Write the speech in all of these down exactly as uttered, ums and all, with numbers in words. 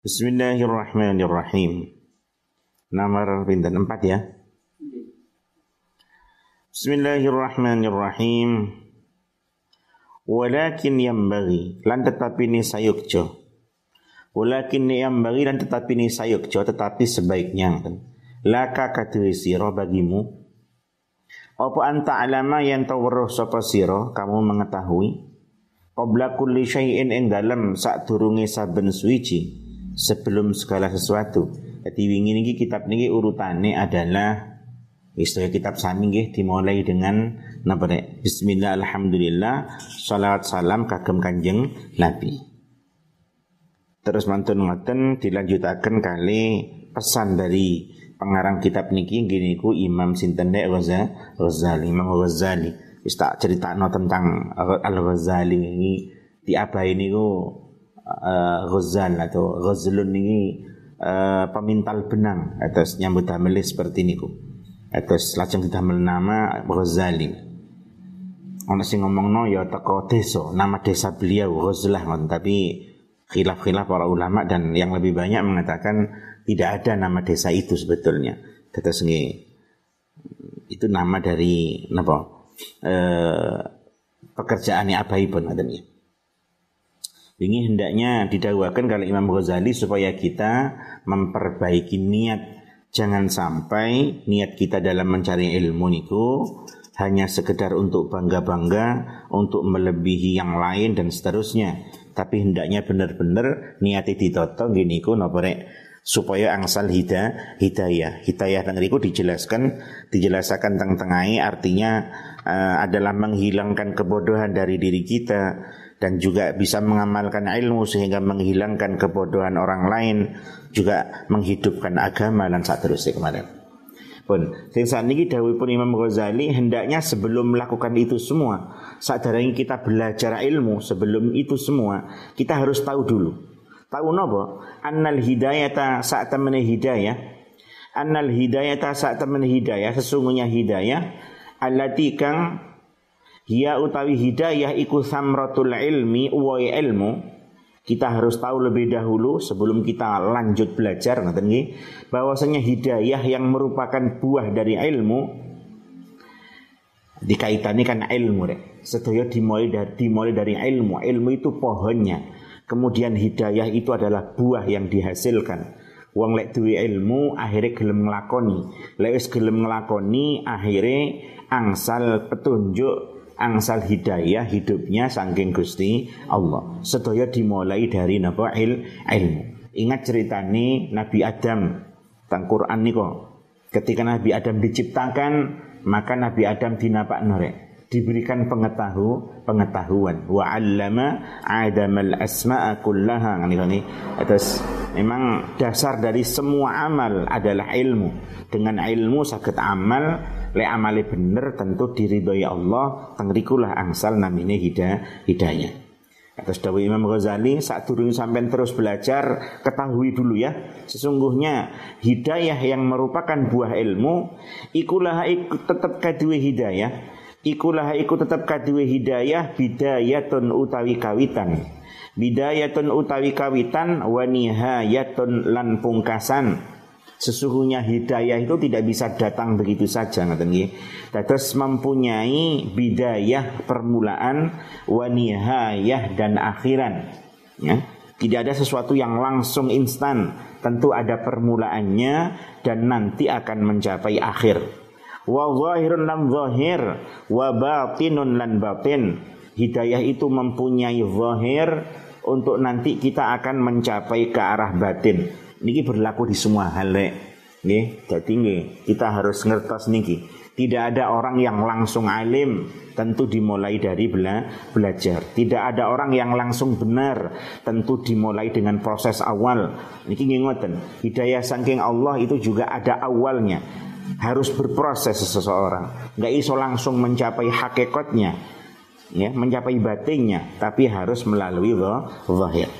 Bismillahirrahmanirrahim. Nomor pinten empat ya. Bismillahirrahmanirrahim. Walakin yambaghi lan tetapi ni sayukjo. Walakin yambaghi lan tetapi ni sayukjo tetapi sebaiknya laka kadhe sira bagimu apa anta alama yang taweruh sapa sira kamu mengetahui qabla kulli syai'in ing dalem sadurunge saben suwiji sebelum segala sesuatu. Jadi wingi niki kitab niki urutane adalah istilah kitab sami nggih dimulai dengan napa nek bismillah alhamdulillah shalawat salam kagem Kanjeng Nabi. Terus mantun ngoten dilanjutaken kali pesan dari pengarang kitab niki nggih niku Imam sinten nek Ghazali, Imam Ghazali. Wis tak critakno tentang Al-Ghazali ini diabahi niku Uh, Ghazal atau Ghazlun ini uh, pemintal benang atas nyambut damel seperti niku atas lajeng didamel nama Ghazali. Ana sing ngomongno ya teko desa, nama desa beliau Ghazlah ngoten, tapi khilaf-khilaf para ulama dan yang lebih banyak mengatakan tidak ada nama desa itu sebetulnya. Terus nggih itu nama dari napa uh, pekerjaannya abaipun ngoten ya. Ini hendaknya didakwakan kalau Imam Ghazali supaya kita memperbaiki niat. Jangan sampai niat kita dalam mencari ilmu niku hanya sekedar untuk bangga-bangga, untuk melebihi yang lain dan seterusnya. Tapi hendaknya benar-benar niati ditoto gini ku noporek supaya angsal hida, hidayah. Hidayah teng riku dijelaskan, dijelaskan teng-tengai artinya uh, adalah menghilangkan kebodohan dari diri kita dan juga bisa mengamalkan ilmu sehingga menghilangkan kebodohan orang lain, juga menghidupkan agama dan seterusnya kemarin. Pun, sing saniki dawuhipun Imam Ghazali hendaknya sebelum melakukan itu semua, sadarane kita belajar ilmu, sebelum itu semua kita harus tahu dulu. Tahu napa? Annal hidayata saat temene hidayah, annal hidayata saat temene hidayah, sesungguhnya hidayah allati kang hiya utawi hidayah iku samratul ilmi wa ilmu. Kita harus tahu lebih dahulu sebelum kita lanjut belajar ngoten nggih bahwasanya hidayah yang merupakan buah dari ilmu dikaitani kan ilmu rek. Sedaya dimulai dari dimulai dari ilmu. Ilmu itu pohonnya. Kemudian hidayah itu adalah buah yang dihasilkan. Wong lek duwe ilmu akhirnya gelem nglakoni. Lek wis gelem nglakoni akhirnya angsal petunjuk, angsal hidayah hidupnya saking Gusti Allah. Sedaya dimulai dari napa il, ilmu. Ingat ceritane Nabi Adam teng Quran niku. Ketika Nabi Adam diciptakan, maka Nabi Adam dinapakno rek, diberikan pengetahu, pengetahuan. Wa 'allama Adamal asma'a kullaha. Ngene atas memang dasar dari semua amal adalah ilmu. Dengan ilmu saged amal, lek amale bener tentu diridhoi Allah, tengrikulah angsal namine hidayah hidayah. Atas dawuh Imam Ghazali, sadurunge sampean terus belajar, ketahui dulu ya, sesungguhnya hidayah yang merupakan buah ilmu ikulah iku tetap kaduwe hidayah, ikulah iku tetap kaduwe hidayah bidayatun utawi kawitan. Bidayatun utawi kawitan wa nihayatun lan pungkasan. Sesungguhnya hidayah itu tidak bisa datang begitu saja ngoten nggih. Dados mempunyai bidayah permulaan wa nihayah dan akhiran. Ya. Tidak ada sesuatu yang langsung instan, tentu ada permulaannya dan nanti akan mencapai akhir. Wa zahirun lan zahir wa batinun lan batin. Hidayah itu mempunyai zahir untuk nanti kita akan mencapai ke arah batin. Niki berlaku di semua hal nggih. Dadi nggih kita harus ngertos niki. Tidak ada orang yang langsung alim, tentu dimulai dari bela, belajar. Tidak ada orang yang langsung benar, tentu dimulai dengan proses awal. Niki nggih ngoten. Hidayah saking Allah itu juga ada awalnya. Harus berproses seseorang. Enggak iso langsung mencapai hakikatnya, ya, mencapai batinnya, tapi harus melalui zahir.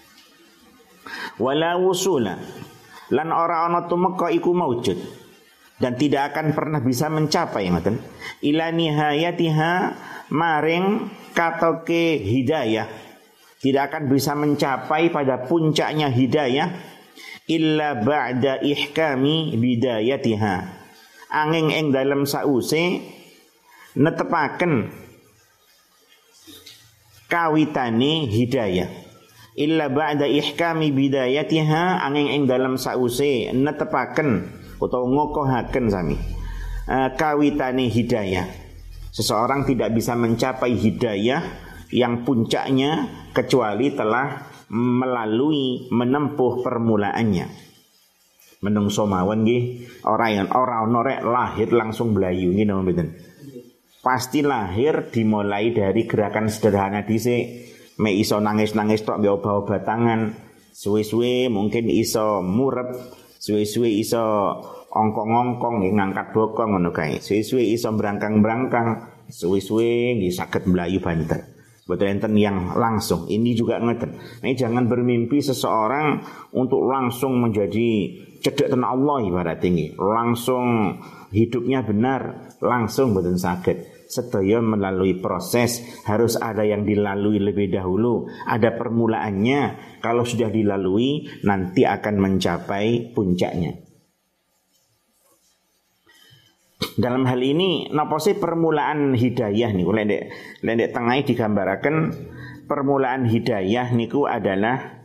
Wala wusula lan ora ana tumeka iku maujud dan tidak akan pernah bisa mencapai ngoten ila nihayatiha maring katoke hidayah tidak akan bisa mencapai pada puncaknya hidayah illa ba'da ihkami bidayatiha. Angin ing dalam sause netepaken kawitane hidayah. Illa ba'da ihkami bidayatiha, angin ing dalam sause netepaken utawa ngokohaken sami uh, kawitane hidayah. Seseorang tidak bisa mencapai hidayah yang puncaknya kecuali telah melalui menempuh permulaannya. Menungso mawon nggih, ora yang ora ono rek lahir langsung blayu nggih napa mboten. Pasti lahir dimulai dari gerakan sederhana dhisik. Mek iso nangis-nangis tok mbek obat-obat tangan, suwe-suwe mungkin iso murep, suwe-suwe iso ongkong-ongkong nggih ngangkat bokong ngono kae. Suwe-suwe iso brangkang-brangkang, suwe-suwe nggih saged mlayu banter. Boten enten yang langsung. Ini juga ngeten. Nah, jangan bermimpi seseorang untuk langsung menjadi cedek ten Allah ibarat tinggi. Langsung hidupnya benar, langsung boten saged. Sedaya melalui proses, harus ada yang dilalui lebih dahulu, ada permulaannya. Kalau sudah dilalui nanti akan mencapai puncaknya. Dalam hal ini napa sih permulaan hidayah niku? Lendek lendek tengah digambaraken permulaan hidayah niku adalah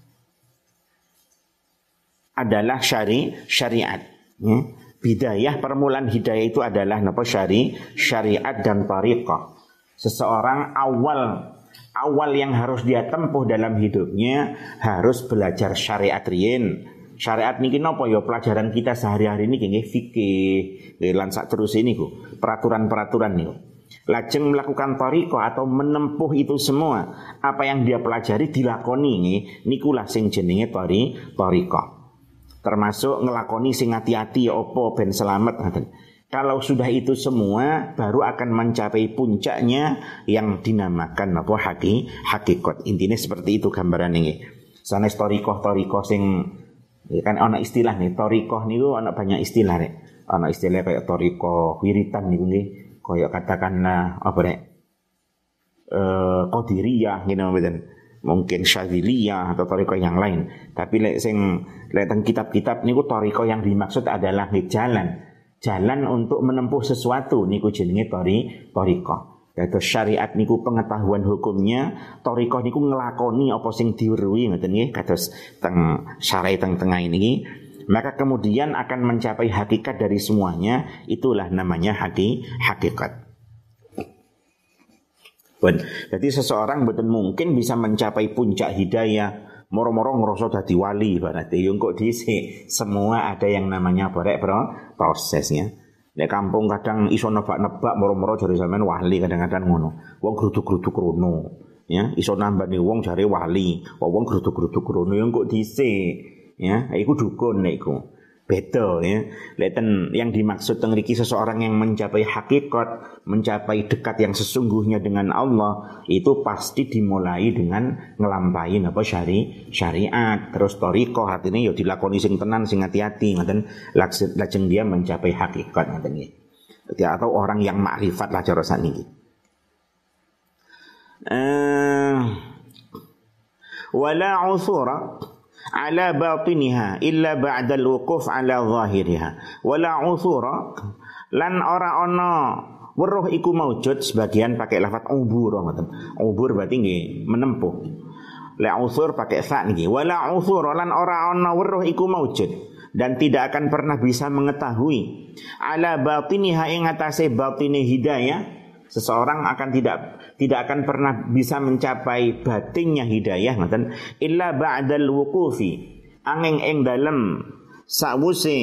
adalah syari syariat. Ya. Bidayah permulaan hidayah itu adalah napa syari syariat dan tariqah. Seseorang awal awal yang harus dia tempuh dalam hidupnya harus belajar syariat riyen. Syariat niki napa ya pelajaran kita sehari-hari niki nggih fikih, lan sak terus niku, peraturan-peraturan niku. Lajeng melakukan tariqah atau menempuh itu semua, apa yang dia pelajari dilakoni nggih, niku lah sing jenenge tari tariqah. Termasuk ngelakoni sing hati-hati opo ben selamat ngaten. Kalau sudah itu semua baru akan mencapai puncaknya yang dinamakan apa haki hakikat. Intinya seperti itu gambaran ini. Sanes torikoh-torikoh sing ya kan ana istilah nih, torikoh niku ana banyak istilah nih. Ana istilah kayak torikoh wiritan niku nggih, kaya katakanlah apa rek? Eh qadiriyah ngene mboten. Mungkin syadziliyah atau torikoh yang lain. Tapi lek sing lek teng kitab-kitab niku torikoh yang dimaksud adalah jalan. Jalan untuk menempuh sesuatu niku jenenge tori torikoh. Yaitu syariat niku pengetahuan hukumnya, torikoh niku ngelakoni apa sing diweruhi ngoten nggih kados teng syariat teng tengah ini. Maka kemudian akan mencapai hakikat dari semuanya, itulah namanya haki hakikat. Jadi seseorang betul mungkin bisa mencapai puncak hidayah moro-moro ngerasa dadi wali berarti yo kok dhisik semua ada yang namanya barek bro prosesnya. Nek kampung kadang iso nebak-nebak moro-moro jare sampean wali kadang-kadang ngono. Wong gruduk-gruduk rono ya iso nambani wong jare wali. Wong gruduk-gruduk rono yo kok dhisik ya iku dukun nek iku. Beda ya. Leten yang dimaksud teng mriki seseorang yang mencapai hakikat, mencapai dekat yang sesungguhnya dengan Allah, itu pasti dimulai dengan ngelampahi apa syari syariat, terus thariqah, artinya ya dilakoni sing tenan sing hati-hati ngoten, lajeng dia mencapai hakikat ngoten nggih. Atau orang yang makrifat lah cara sakniki. Eh wala usura ala batiniha illa ba'dal wuquf ala zahiriha wala uthura lan ora ana weruh iku maujud, sebagian pakai lafaz ubur ngoten. Ubur berarti nggih menempuh. La uthur pakai fa nggih. Wala uthura lan ora ana weruh iku maujud dan tidak akan pernah bisa mengetahui ala batiniha ing atase batine hidayah. Seseorang akan tidak tidak akan pernah bisa mencapai batinnya hidayah ngoten illa ba'dal wuqufi angin ing dalem sawuse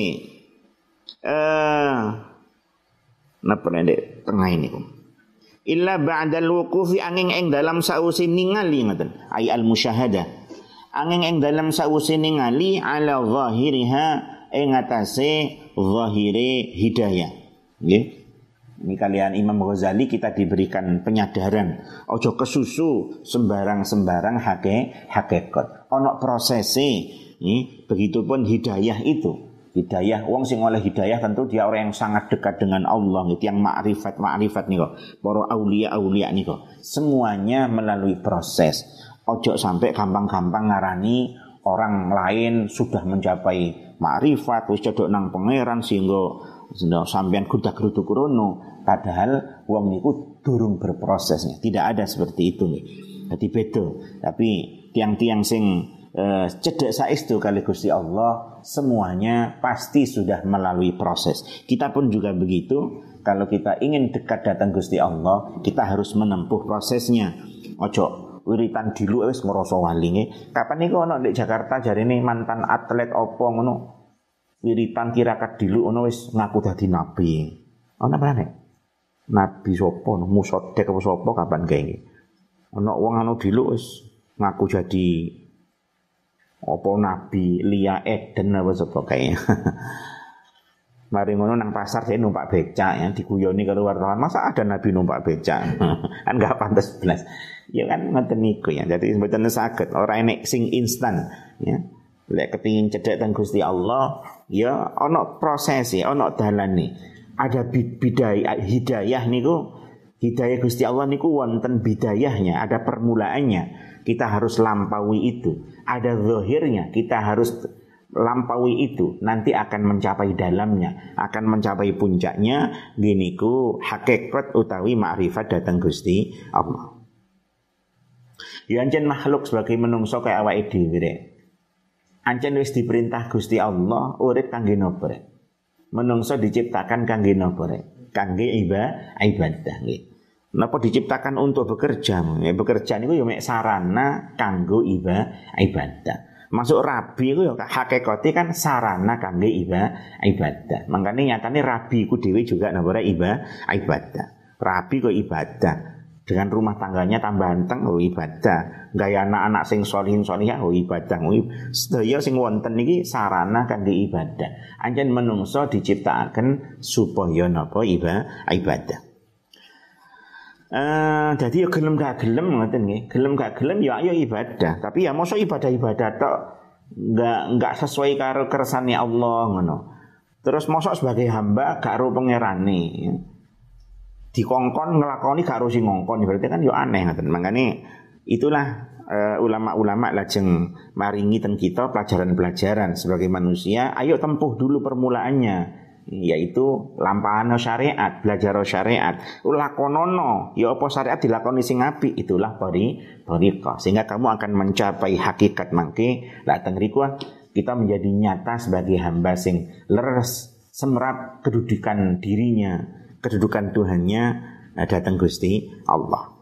eh napa nek tengah ini illa ba'dal wuqufi angin ing dalem sawuse ningali ngoten ai al musyahadah angin ing dalem sawuse ningali ala zahiriha ing atase zahire hidayah nggih. Ini kalian Imam Ghazali kita diberikan penyadaran. Ojo kesusu sembarang-sembarang hake hakikat. Ono prosesi. Ini begitupun hidayah itu. Hidayah, wong sing oleh hidayah tentu dia orang yang sangat dekat dengan Allah, gitu, yang makrifat makrifat nih kok. Para aulia aulia nih kok. Semuanya melalui proses. Ojo sampai gampang-gampang ngarani orang lain sudah mencapai makrifat wis cedhok nang pangeran sehingga sampean gudak-gruduk rono, padahal wong niku durung berprosesnya. Tidak ada seperti itu nih. Jadi beda. Tapi tiang-tiang sing eh, cedek saestu kali Gusti Allah semuanya pasti sudah melalui proses. Kita pun juga begitu. Kalau kita ingin dekat datang Gusti Allah, kita harus menempuh prosesnya. Ojo wiritan dilu wis ngrasa walinge. Kapan niku ana di Jakarta jarine mantan atlet opo ngono. Wiritan tirakat dilu ono wis ngaku dadi nabi. Ana apa nek? Nabi sapa no Musodek apa sapa kapan kae iki? Ana wong anu dilu wis ngaku jadi apa nabi Lia Eden apa sapa kae. Mari ngono nang pasar saya numpak becak ya diguyoni karo wartawan. Masa ada nabi numpak becak? Kan enggak pantas belas. Ya kan ngoten niku ya. Jadi mboten saged ora enek sing instan ya. Lek kepengin cedhek teng Gusti Allah, ya ana proses ya, ana dalane. Ada bidayah hidayah niku, hidayah Gusti Allah niku wonten bidayahnya, ada permulaannya. Kita harus lampaui itu. Ada zahirnya, kita harus lampaui itu, nanti akan mencapai dalamnya, akan mencapai puncaknya. Gini ku hakikat utawi ma'rifat datang Gusti Allah. Ya ancen makhluk sebagai menungso kaya awake dhewe rek. Ancen wis diperintah Gusti Allah urip kangge napa rek? Menungso diciptakan kangge napa rek? Kangge ibadah nggih. Napa diciptakan untuk bekerja? Ya bekerja niku ya mek sarana kanggo ibadah. Masuk rabi itu ya hakikate kan sarana kangge ibadah. Makanya nyatane rabi ku dhewe juga napa ibadah. Rabi kok ibadah. Dengan rumah tangganya tambah anteng oh ibadah. Gaya anak-anak sing sholihin sholihah oh ibadah. Sedaya sing wonten iki sarana kangge ibadah. Anjen menungso diciptakan supaya napa ibadah. Uh, jadi ya gelem gak gelem ngoten nggih. Gelem gak gelem ya ayo ibadah. Tapi ya mosok ibadah-ibadah tok enggak enggak sesuai karo kersane Allah ngono. Terus mosok sebagai hamba gak karo pangerane. Ya. Dikongkon nglakoni gak karo sing ngongkon berarti kan ya aneh ngoten. Makane itulah uh, ulama-ulama lajeng maringi teng kita pelajaran-pelajaran sebagai manusia, ayo tempuh dulu permulaannya. Yaitu lampahan syariat, belajar syariat, lakonono, ya apa syariat dilakoni sing apik, itulah pari thariqah. Sehingga kamu akan mencapai hakikat mangke. Lah teng riku kita menjadi nyata sebagai hamba sing leres semrap kedudukan dirinya, kedudukan Tuhannya datang Gusti Allah.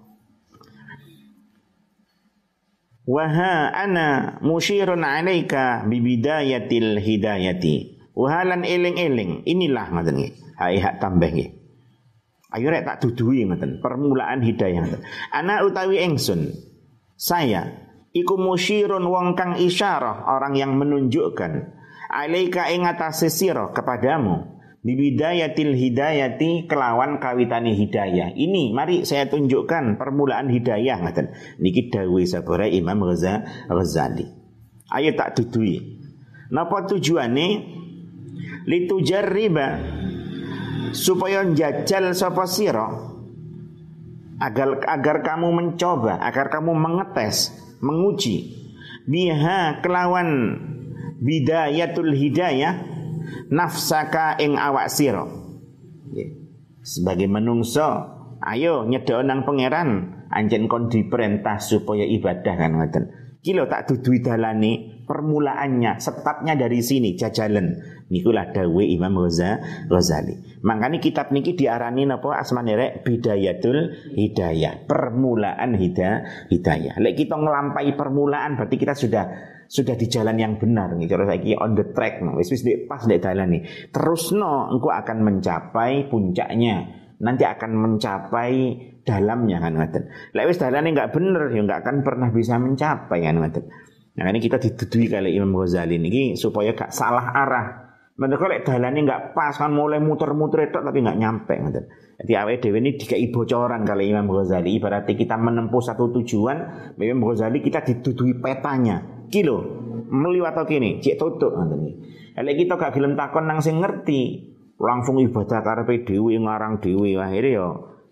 Wa ha ana musyirun 'alaika bi bidayatil hidayati. Wahalan eling-eling, inilah ngoten nggih. Hae hak tambah nggih. Ayo rek tak duduhi ngoten, permulaan hidayah ngoten. Ana utawi ingsun, saya iku musyirun wong kang isyarah, orang yang menunjukkan alaika ing atase sira kepadamu bibidayatil hidayati kelawan kawitane hidayah. Ini mari saya tunjukkan permulaan hidayah ngoten. Niki dawuh sabara Imam Ghazali. Ayo tak duduhi. Napa tujuane? Litujarriba supaya njajal sapa sira agar agar kamu mencoba, agar kamu mengetes, menguji biha kelawan bidayatul hidayah nafsaka ing awak sira. Sebagai menungso, ayo nyedhok nang pangeran, anjen kon diperintah supaya ibadah kan ngoten. Kilo tak duduhi dalane permulaannya, startnya dari sini jajalan. Nikulah dawuh Imam Ghazali. Makanya kitab niki diarani napa asmane rek bidayatul hidayah, permulaan hidayah. hidayah. Lek kita ngelampai permulaan berarti kita sudah sudah di jalan yang benar nih. Cara saiki on the track no. Wis wis pas ndek dalan nih. Terusno engko akan mencapai puncaknya. Nanti akan mencapai dalamnya kan ngoten. Lek wis dalane enggak bener ya enggak akan pernah bisa mencapai kan ngoten. Nah ini kita dituduhi kali Imam Ghazali niki supaya gak salah arah. Mereka lek dalane enggak pas kan mulai muter-muter tok tapi enggak nyampe ngoten. Jadi awake dhewe ini dikai bocoran kali Imam Ghazali. Ibaratnya kita menempuh satu tujuan, Imam Ghazali kita dituduhi petanya. Kilo meliwat atau kini cek tutuk ngoten iki. Lek kita gak gelem takon nang sing ngerti, langsung ibadah karepe dhewe ngarang dhewe akhire ya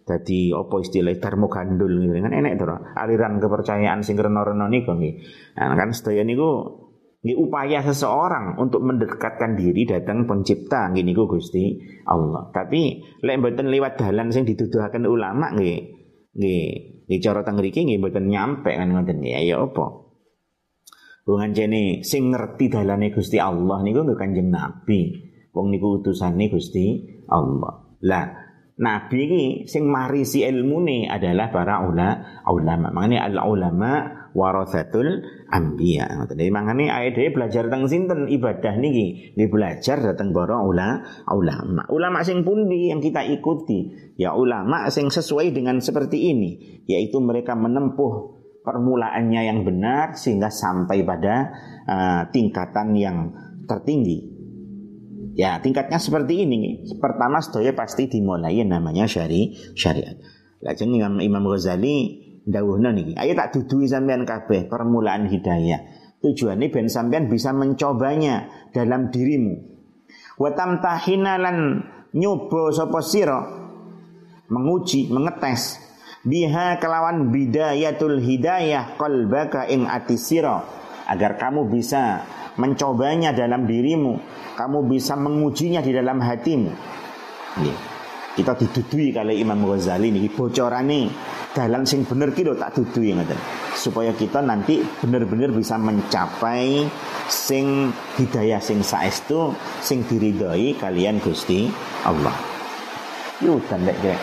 Dadi apa istilah darmo gandul gitu kan enek to aliran kepercayaan sing rena-rena niku nggih. Nah kan sedaya niku nggih upaya seseorang untuk mendekatkan diri datang pencipta nggih niku Gusti Allah. Tapi lek mboten liwat dalan sing dituduhaken ulama nggih nggih nggih cara teng mriki nggih mboten nyampe kan ngoten nggih. Ya apa? Wong anjene sing ngerti dalane Gusti Allah niku nggih Kanjeng Nabi. Wong niku utusane Gusti Allah. Lah Nabi ini sing marisi ilmune adalah para ula, ulama. Makanya al-ulama warathatul anbiya. Jadi makanya ayat dhewe belajar tentang sinten ibadah niki, nggih belajar dateng para ula, ulama. Ulama sing pundi yang kita ikuti? Ya ulama sing sesuai dengan seperti ini, yaitu mereka menempuh permulaannya yang benar sehingga sampai pada uh, tingkatan yang tertinggi. Ya tingkatnya seperti ini. Pertama sedaya pasti dimulai namanya syari syariat. Lajeng Imam Imam Ghazali dawuhna niki, ayo tak duduhi sampean kabeh permulaan hidayah. Tujuannya ben sampean bisa mencobanya dalam dirimu. Wa tamtahina lan nyoba sapa sira menguji, mengetes biha kelawan bidayatul hidayah qalbaka ing ati sira agar kamu bisa mencobanya dalam dirimu, kamu bisa mengujinya di dalam hatimu. Nggih. Kita didudui kali Imam Ghazali niki bocorane dalan sing bener ki lho tak dudui ngoten. Supaya kita nanti bener-bener bisa mencapai sing hidayah sing saestu sing diridhoi kalian Gusti Allah. Yo dan lek kira.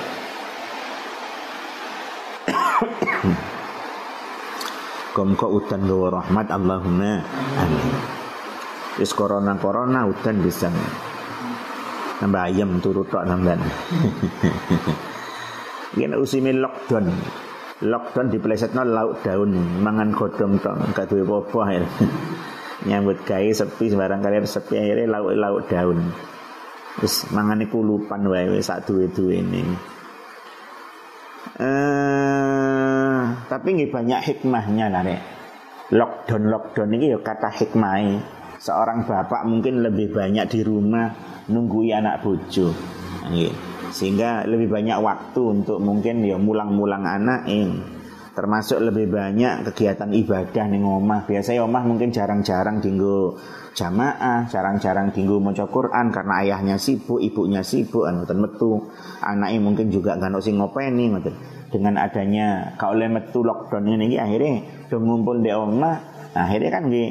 Gomko udan gawa rahmat Allahumma amin. Wis corona-corona udan bisa nambah ayam turut tok nambahan. Yen usime lockdown. Lockdown diplesetno lauk daun, mangan godhong tok, gak duwe apa-apa. Nyambut gawe sepi sembarang kalian sepi akhirnya lauk-lauk daun. Wis mangane kulupan wae wis sak duwe-duwene. Eh tapi nggih banyak hikmahnya lah Rek. Lockdown-lockdown ini ya kata hikmah. Seorang bapak mungkin lebih banyak di rumah nunggui anak bojo, sehingga lebih banyak waktu untuk mungkin ya mulang-mulang anak ini. Termasuk lebih banyak kegiatan ibadah ning omah. Biasanya omah mungkin jarang-jarang dinggo jamaah, jarang-jarang dinggo maca Quran karena ayahnya sibuk, ibunya sibuk, ngoten metu. Anaknya mungkin juga gak ono sing ngopeni ngoten. Dengan adanya ka oleh metu lockdown ini akhirnya do ngumpul di omah, akhirnya kan nggih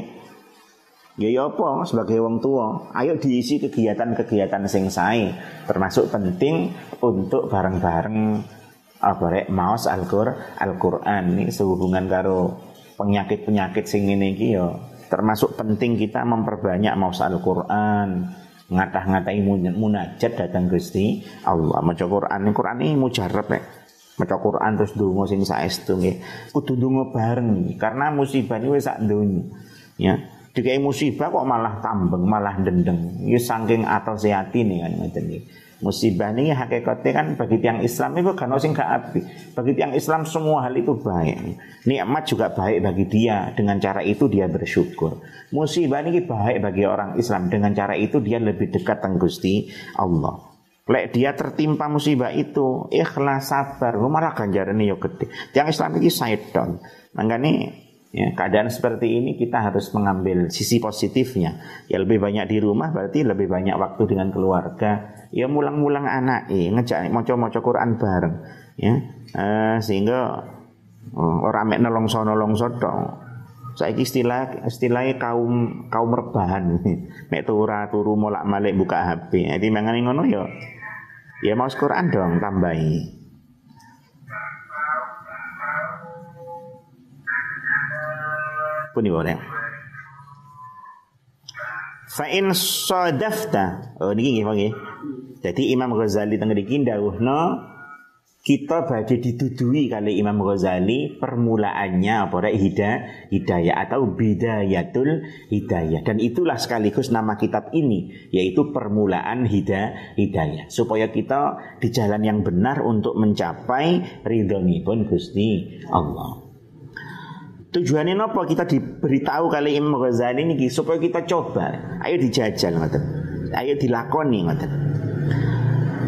ya ya apa sebagai wong tua, ayo diisi kegiatan-kegiatan sing sae, termasuk penting untuk bareng-bareng apa rek maos Al-Qur'an Al-Qur'an ini sehubungan karo penyakit-penyakit sing ngene iki ya termasuk penting kita memperbanyak maos Al-Qur'an, ngatah-ngatai munajat datang Gusti Allah. Maca Qur'an, Qur'an ini mujarab rek. Maca Qur'an terus ndonga sing saestu nggih. Kudu ndonga bareng karena musibah ini wis sak donya. Ya. Dikai musibah kok malah tambeng, malah dendeng. Ya saking atose atine kan ngoten iki. Musibah ini hakikatnya kan bagi tiang Islam itu kan sing gak apik. Bagi tiang Islam semua hal itu baik. Nikmat juga baik bagi dia. Dengan cara itu dia bersyukur. Musibah ini baik bagi orang Islam. Dengan cara itu dia lebih dekat dengan Gusti Allah. Lek dia tertimpa musibah itu ikhlas sabar, malah ganjarane yo gede. Tiang Islam iki saedan. Mangkane ya, keadaan seperti ini kita harus mengambil sisi positifnya. Ya lebih banyak di rumah berarti lebih banyak waktu dengan keluarga. Ya mulang-mulang anak, eh, ngejak maca-maca Quran bareng. Ya, eh, sehingga oh, orang mek nelongso-nelongso tok. Saiki istilah istilahnya kaum kaum rebahan. Mek tura turu molak-malik buka H P. Jadi mangane ngono ya. Ya maos Quran dong tambahi. Puni boleh. Fa in sadafta. Oh niki nggih nggih. Jadi Imam Ghazali teng mriki dawuhna kita badhe dituduhi kali Imam Ghazali permulaannya apa rek hidayah hidayah atau bidayatul hidayah, dan itulah sekaligus nama kitab ini yaitu permulaan hidayah hidayah supaya kita di jalan yang benar untuk mencapai ridhonipun Gusti Allah. Tujuannya apa kita diberitahu kali Imam Ghazali ini supaya kita coba, ayo dijajal ngoten, ayo dilakoni ngoten.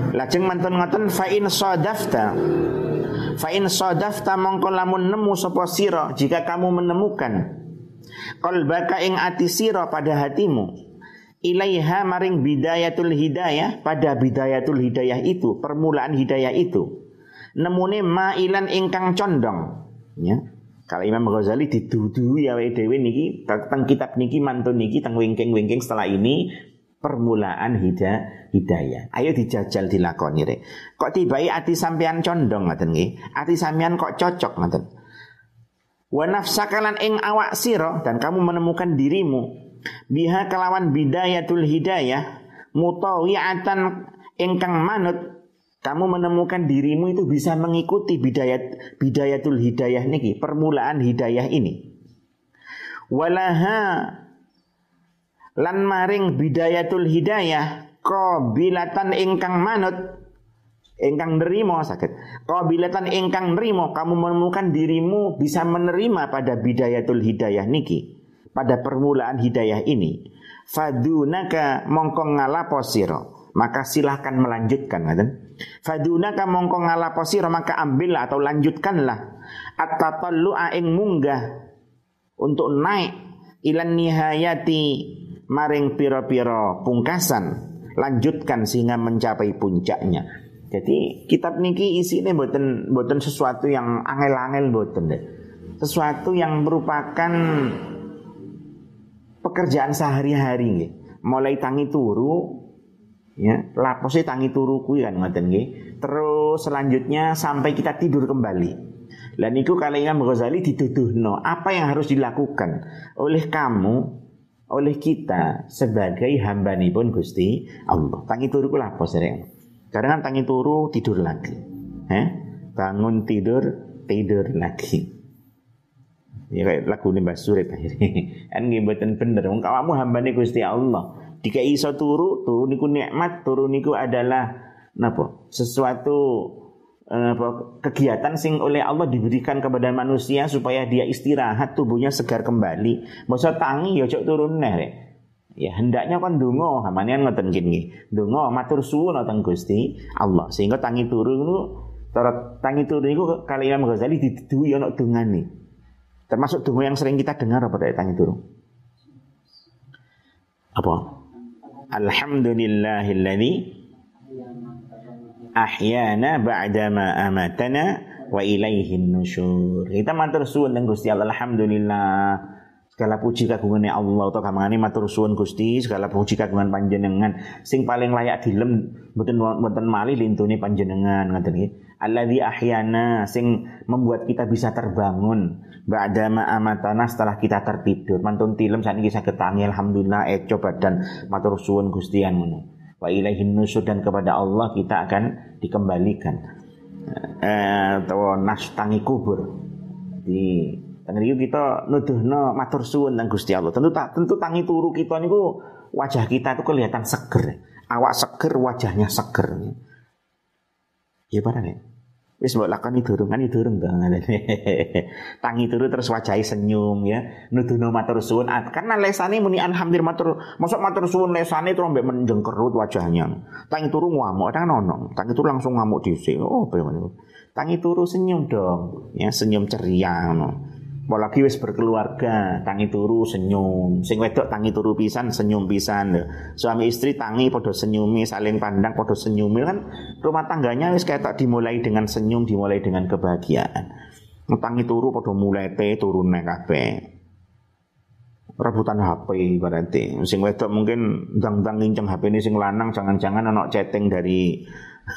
Lajeng mantun ngoten fa in sadafta fa in sadafta mongko lamun nemu sapa sira, jika kamu menemukan qalbaka ing ati sira pada hatimu, ilaiha maring bidayatul hidayah, pada bidayatul hidayah itu, permulaan hidayah itu, nemune mailan ingkang condong, ya. Kalau Imam Ghazali didudu ya wae dhewe niki teng kitab niki mantun niki teng wingking-wingking setelah ini permulaan hidayah hidayah. Ayo dijajal dilakoni rek. Kok tibai ati sampean condong ngoten nggih. Ati sampean kok cocok ngoten. Wa nafsakalan ing awak sira, dan kamu menemukan dirimu biha kelawan bidayatul hidayah mutawi'atan ingkang manut, kamu menemukan dirimu itu bisa mengikuti bidayat bidayatul hidayah niki, permulaan hidayah ini. Walaha lan maring bidayatul hidayah qabilatan ingkang manut, ingkang nerimo sakit. Qabilatan ingkang nerimo, kamu menemukan dirimu bisa menerima pada bidayatul hidayah niki, pada permulaan hidayah ini. Fadunaka mongko ngalapo sira, maka silahkan melanjutkan ngaten. Fadunaka mongko ngalapo sira, maka ambillah atau lanjutkanlah at-tatallu'a ing munggah untuk naik ilan nihayati maring pira-pira pungkasan, lanjutkan sehingga mencapai puncaknya. Jadi kitab niki isine mboten mboten sesuatu yang angel-angel mboten deh. Sesuatu yang merupakan pekerjaan sehari-hari nggih. Mulai tangi turu ya, lapose tangi turu kuwi kan ngoten nggih. Terus selanjutnya sampai kita tidur kembali. Lah niku kalau Imam Ghazali dituduhno, apa yang harus dilakukan oleh kamu, oleh kita sebagai hambanipun Gusti Allah. Tangi turu ku lapos rek. Kadang kan tangi turu tidur lagi. Eh? Bangun tidur tidur lagi. Ya kayak lagu Mbah Surip akhirnya. Kan nggih mboten bener. Wong kawamu hambane Gusti Allah. Dikai iso turu, turu niku nikmat, turu niku adalah napa? Sesuatu eh, kegiatan sing oleh Allah diberikan kepada manusia supaya dia istirahat, tubuhnya segar kembali. Masa tangi ya cok turun neh rek. Ya hendaknya kan ndonga, hamanian ngoten nggih. Ndonga matur suwun nang Gusti Allah. Sehingga tangi turu niku tangi turu niku kali Imam Ghazali diduwi ana dongane. Termasuk donga yang sering kita dengar apa dari tangi turu? Apa? Alhamdulillahilladzi ahyana ba'dama amatana wa ilaihin nusyur. Kita matur suwun nang Gusti Allah. Alhamdulillah. Segala puji kagungane Allah utawa kamangane matur suwun Gusti, segala puji kagungan panjenengan. Sing paling layak dilem mboten mboten malih lintune panjenengan ngoten nggih. Alladzi ahyana, sing membuat kita bisa terbangun ba'dama amatana, setelah kita tertidur. Mantun tilem sakniki saged tangi alhamdulillah eco badan matur suwun Gusti an ngono. Wa ilaihin nusyur, dan kepada Allah kita akan dikembalikan. Eh utawa nas tangi kubur. Di tengriku kita nuduhno matur suwun nang Gusti Allah. Tentu tentu tangi turu kita niku wajah kita itu kelihatan seger. Awak seger, wajahnya seger. Ya barang ya. Wis mbok lakoni durung kan durung to. Tangi turu terus wajahe senyum ya. Nuduhno matur suwun. Karena lesane muni alhamdulillah matur, mosok matur suwun lesane terus mbek menjengkerut wajahnya. Tangi turu ngamuk, ada ono. Tangi turu langsung ngamuk dhisik. Oh, bagaimana? Tangi turu senyum dong. Ya, senyum ceria ngono. Apalagi wis berkeluarga, tangi turu senyum. Sing wedok tangi turu pisan, senyum pisan. Suami istri tangi podo senyumi, saling pandang podo senyumi kan. Rumah tangganya wis ketok dimulai dengan senyum, dimulai dengan kebahagiaan. Tangi turu podo mulete turune kabeh. Rebutan H P berarti. Sing wedok mungkin ndang-ndang nginceng H P ini sing lanang, jangan-jangan ana chatting dari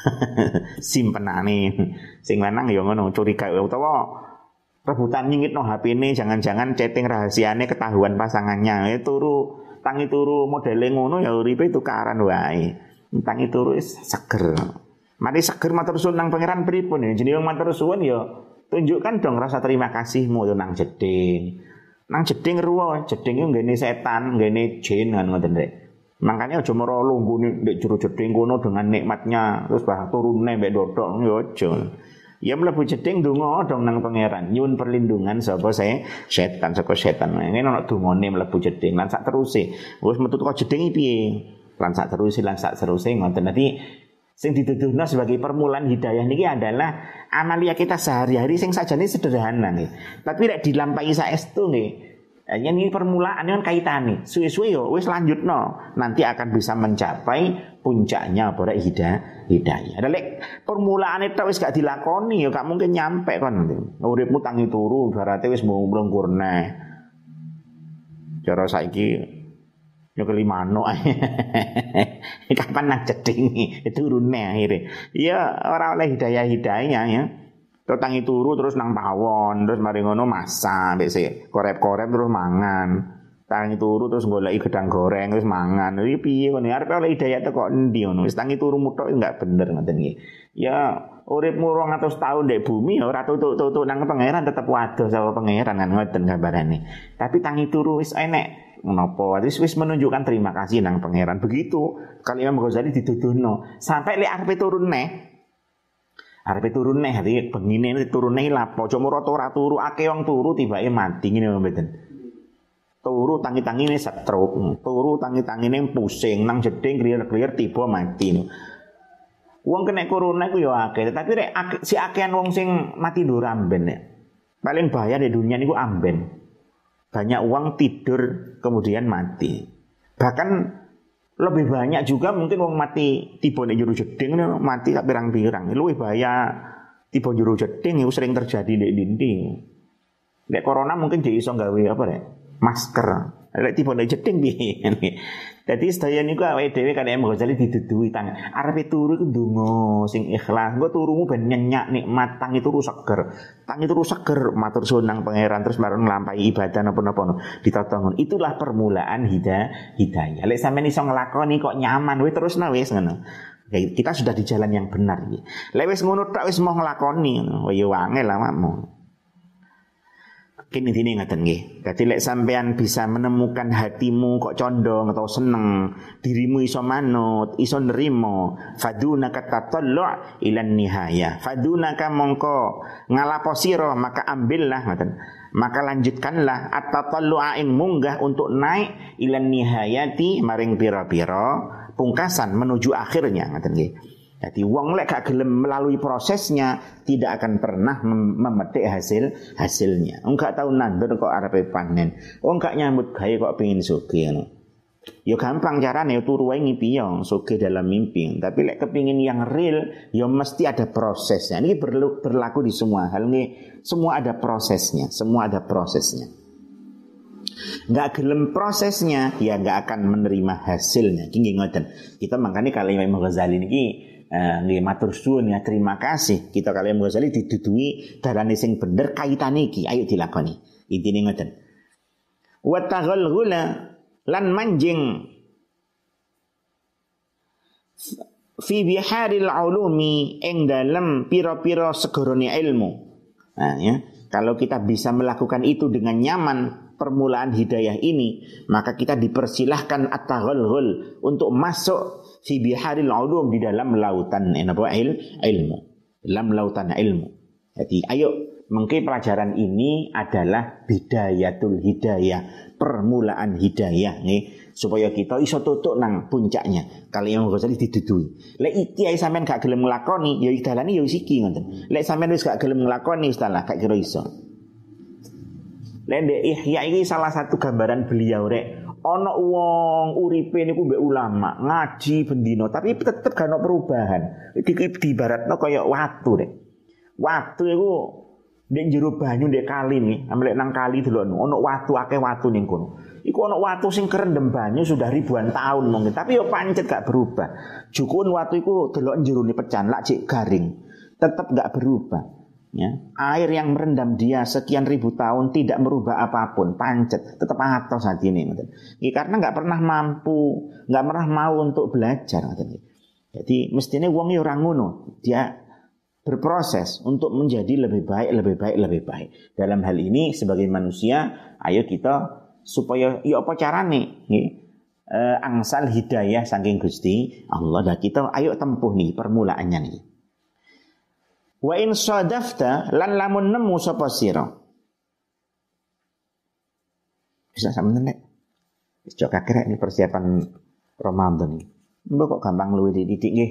simpenane. Sing lanang ya ngono, curiga utawa rebutan nyingitno H P ini, jangan-jangan chatting rahasiane ketahuan pasangannya. Ya turu, tangi turu modele ngono ya uripe tukaran wae. Tangi turu wis seger. Mari seger matur suwun nang pangeran pripun ya. Jenenge matur suwun ya tunjukkan dong rasa terima kasihmu yo nang jeding. Nang jeding ruwo, jeding iku nggene setan, nggene jin kan ngoten rek. Makanya aja mara lunggune ndek jero jeding kono dengan nikmatnya terus bah turune mbek dodok yo aja. Ya mlebu jeding donga dong nang pangeran, nyuwun perlindungan sapa saya setan saka setan. Ngene ana dongane mlebu jeding lan sak teruse. Wis metu teko jeding iki piye? Lan sak teruse lan sak teruse ngoten. Dadi Sing dituduhna sebagai permulaan hidayah niki adalah amalia kita sehari-hari sing sajane sederhana nggih. Tapi lek dilampahi saestu nggih. Yen ini permulaan kan kaitane. Suwe-suwe yo wis lanjutno, nanti akan bisa mencapai puncaknya apa rek hidayah. Hidayah. Ada lek permulaane tok wis gak dilakoni yo gak mungkin nyampe kon. Uripmu tangi turu berarti wis mlungkur neh. Cara saiki yo kelimano. Kapan nang jeding turune akhire. Ya ora oleh hidayah-hidayah ya. Tangi turu terus nang pawon, terus mari ngono masak, mbek sik korep-korep terus mangan. Tangi turu terus goleki gedang goreng terus mangan. Iki piye ngono? Arep oleh hidayah kok endi ngono? Wis tangi turu mutok enggak bener ngoten iki. Ya uripmu rong atus tahun ndek bumi ya ora tutuk-tutuk nang pangeran tetep waduh saka pangeran kan ngoten gambarane. Tapi tangi turu wis enek menapa? Wis wis menunjukkan terima kasih nang pangeran. Begitu kalau Imam Ghazali dituduhno sampai lek arepe turun neh Arepe turun neh hati bengine turun neh lapo aja moro ora turu akeh wong turu tibake mati ngene mboten. Turu tangi-tangine stroke, turu tangi-tangine pusing nang jeding kliyer-kliyer tiba mati. Wong kena corona iku ya akeh, tapi rek si akehan wong sing mati ndur amben ya. Paling bahaya di dunia niku amben. Banyak uang tidur kemudian mati. Bahkan lebih banyak juga mungkin wong mati tiba nek jero jeding mati sak pirang-pirang. Luwih bahaya tiba jero jeding itu sering terjadi di dinding. Nek corona mungkin dia iso gawe apa rek? Masker. Lek tiba nek jeding piye. Dadi sedaya niku awake dhewe kan Imam Ghazali dituduhi tang. Arepe turu iku ndonga sing ikhlas. Engko turumu ben nyenyak nikmat tangi turu seger. Tangi turu seger matur suwun nang pangeran terus marang nglampahi ibadah napa-napa. Ditotongon. Itulah permulaan hidayah. Hidayah. Lek sampeyan iso nglakoni kok nyaman wis terusna wis ngono. Kita sudah di jalan yang benar iki. Lek wis ngono tok wis mau nglakoni ngono. Ya wangel awakmu. Kini dini ngaten nggih. Dadi lek sampean bisa menemukan hatimu kok condong atau seneng, dirimu iso manut, iso nerimo, fadunaka tatallu' ila nihaya. Fadunaka mongko ngalapo sira maka ambillah ngaten. Maka lanjutkanlah at-tatallu'a ing munggah untuk naik ila nihayati maring pira-pira pungkasan menuju akhirnya ngaten nggih. Jadi wong lek gak gelem melalui prosesnya tidak akan pernah mem- memetik hasil hasilnya. Wong gak tau nandur kok arepe panen. Wong gak nyambut gawe kok pengin sugih ngono. Ya gampang carane turu wae ngipi yo sugih dalam mimpi. Tapi lek kepingin yang real ya mesti ada prosesnya. Ini perlu berlaku di semua hal ini. Semua ada prosesnya, semua ada prosesnya. Enggak gelem prosesnya ya enggak akan menerima hasilnya. Iki ngoten. Kita makanya kalau Imam Ghazali niki nggih uh, matur suwun ya terima kasih kita kalian Ghazali diduduhi darane sing bener kaitane iki ayo dilakoni intine ngoten wa taghalghula lan manjing fi biharil ulumi ing dalem pira-pira segorone ilmu. Nah ya kalau kita bisa melakukan itu dengan nyaman permulaan hidayah ini maka kita dipersilahkan at-taghalghul untuk masuk fi biharil ulum di dalam lautan apa il, ilmu dalam lautan ilmu. Jadi ayo mungkin pelajaran ini adalah bidayatul hidayah, permulaan hidayah nih supaya kita iso tutuk nang puncaknya. Kalau yang Ghazali diduduhi. Lek iki ae sampean gak gelem nglakoni ya dalane ya wis iki ngoten. Lek sampean wis gak gelem nglakoni wis dalah gak kira iso. Lek Ihya iki salah satu gambaran beliau rek. Ana wong uripe niku mbek ulama, ngaji bendino tapi tetep gak ono perubahan. Iki diibaratno kaya watu rek. Watu iku ndek jero banyu ndek kali nih, amlek nang kali delok ono watu akeh watu ning kono. Iku ono watu sing kerendem banyu sudah ribuan tahun mungkin, tapi yo pancet gak berubah. Jukun watu iku delok jerone pecan lak cek garing, tetep gak berubah. Ya, air yang merendam dia sekian ribu tahun tidak merubah apapun, pancet, tetap atos hati ini. Ya, karena nggak pernah mampu, nggak pernah mau untuk belajar. Jadi mestinya wong orang ngono, dia berproses untuk menjadi lebih baik, lebih baik, lebih baik. Dalam hal ini sebagai manusia, ayo kita supaya, ya apa carane? Nih, eh, angsal hidayah saking Gusti Allah. Dan kita ayo tempuh nih permulaannya nih. Wa in sadafta lan lamun nemu sapa sira. Bisa sampeyan nek. Wis cok kakrek ini persiapan Ramadan. Mbok kok gampang luwih dididik nggih.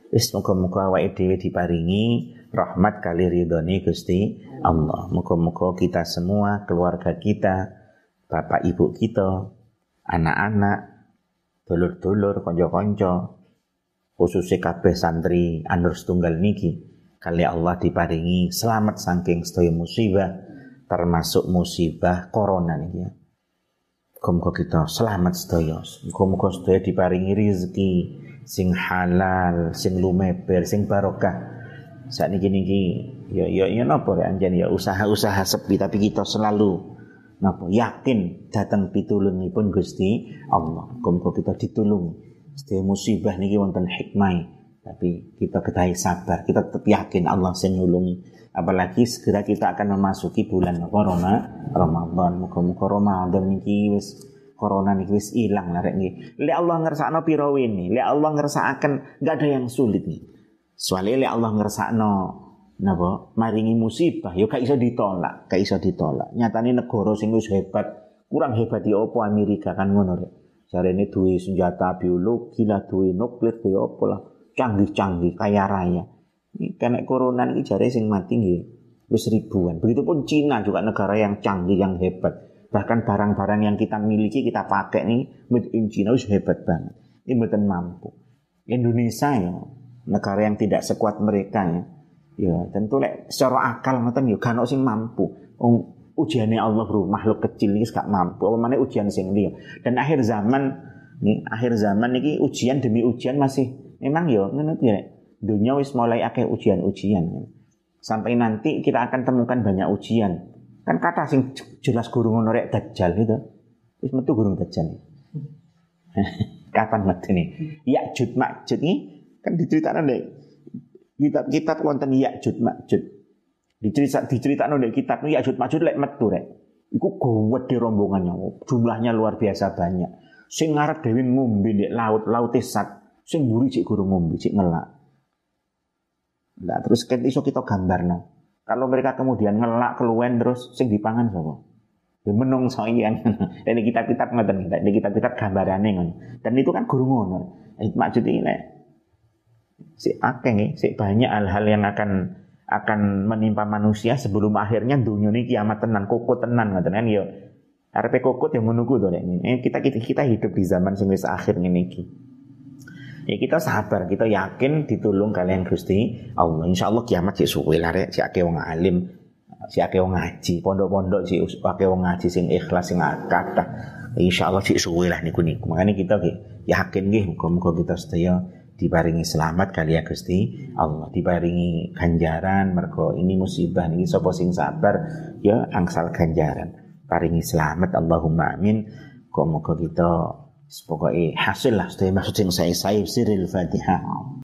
Wis muga-muga awake dhewe diparingi rahmat kali ridhone Gusti Allah. Muga-muga kita semua, keluarga kita, bapak ibu kita, anak-anak, dulur-dulur, kanca-kanca, khususnya kabeh santri An-Nur Setunggal niki, kali Allah diparingi selamat saking sedaya musibah, termasuk musibah corona niki ya. Muga-muga kita selamat sedaya. Muga-muga sedaya diparingi rezeki sing halal, sing lumeber, sing barokah. Saat niki niki ya ya ya napa rek anjen ya usaha-usaha sepi tapi kita selalu napa yakin datang pitulungipun Gusti Allah. Muga-muga kita ditulung. Sedaya musibah niki wonten hikmah. Tapi kita ketahui sabar, kita tetap yakin Allah sing nulungi. Apalagi segera kita akan memasuki bulan Ramadan. Ramadan, muga-muga Ramadan niki wis corona niki wis ilang lah rek niki. Lek Allah ngersakno pira wene, lek Allah ngersakaken enggak ada yang sulit nih. Soale lek Allah ngersakno napa maringi musibah ya gak iso ditolak, gak iso ditolak. Nyatane negara sing wis hebat, kurang hebat ya apa Amerika kan ngono rek. Jarene duwe senjata biologi lah, duwe nuklir, duwe apa lah. Canggih-canggih, kaya raya. Kena corona ini jare sing mati nggih wis ribuan. Begitupun Cina juga negara yang canggih, yang hebat. Bahkan barang-barang yang kita miliki, kita pakai nih made in China wis hebat banget. Ini mboten mampu. Indonesia ya, negara yang tidak sekuat mereka ya. Ya, tentu lek secara akal ngoten ya gak ono sing mampu. Um, ujiane Allah bro, makhluk kecil iki gak mampu. Apa meneh ujian sing liya. Dan akhir zaman nih, akhir zaman iki ujian demi ujian masih memang ya ngono ya. Dunia wis mulai akeh ujian-ujian. Sampai nanti kita akan temukan banyak ujian. Kan kata sing jelas guru ngono rek dajjal itu. Wis metu gurung dajjal. Kapan metu nih? Ya'jud Ma'jud iki kan diceritakno nek kitab-kitab wonten Ya'jud Ma'jud. Dicerita diceritakno nek kitab Ya'jud Ma'jud lek metu rek. Iku gawedhe rombongannya. Jumlahnya luar biasa banyak. Sing ngarep dhewe ngombe nek laut, laute sat. Sing mburi cek guru ngombe, cek ngelak. Nah, terus kan iso kita gambarno. Kalau mereka kemudian ngelak keluwen terus sing dipangan sapa? Ya menungso iki kan. Dan kitab-kitab ngoten kita, di kitab-kitab gambarane ngono. Dan itu kan guru ngono. Maksud iki nek si akeh nggih, si banyak hal-hal yang akan akan menimpa manusia sebelum akhirnya dunia ini kiamat tenan, koko tenan ngoten kan ya. Arepe kokot yang menunggu to nek kita kita kita hidup di zaman sing wis akhir ngene iki. Ya kita sabar, kita yakin ditulung kalian Gusti Allah. Insyaallah kiamat sik suwe lah rek, sik akeh wong alim, sik akeh wong ngaji, pondok-pondok sik akeh wong ngaji sing ikhlas sing kathah. Insyaallah sik suwe lah niku niku. Makane kita yakin nggih muga-muga kita sedaya diparingi selamat kali ya Gusti Allah, diparingi ganjaran mergo ini musibah niki sapa sing sabar ya angsal ganjaran. Paringi selamat Allahumma amin. Muga-muga kita pokoknya hasil lah, maksud yang saya saya siril Fatihah.